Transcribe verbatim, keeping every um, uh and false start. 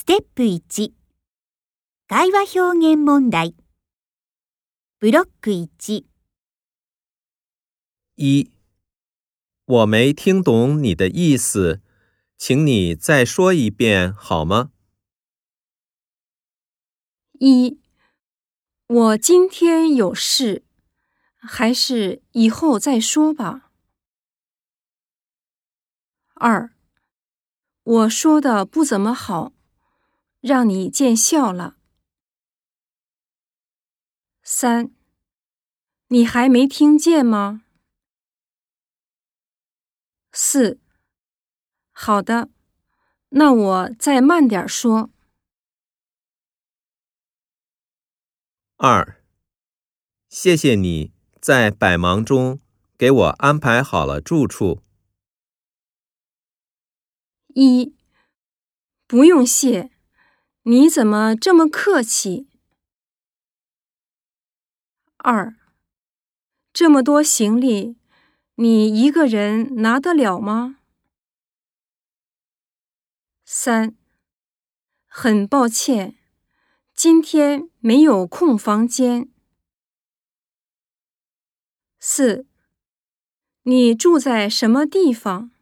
ステップいち、会話表現問題。ブロックいち。 一，我没听懂你的意思，请你再说一遍好吗？ 一，我今天有事，还是以后再说吧。二，我说的不怎么好，让你见笑了。三，你还没听见吗？四，好的，那我再慢点说。 二，谢谢你在百忙中给我安排好了住处。 一，不用谢，你怎么这么客气？二，这么多行李，你一个人拿得了吗？三，很抱歉，今天没有空房间。四，你住在什么地方？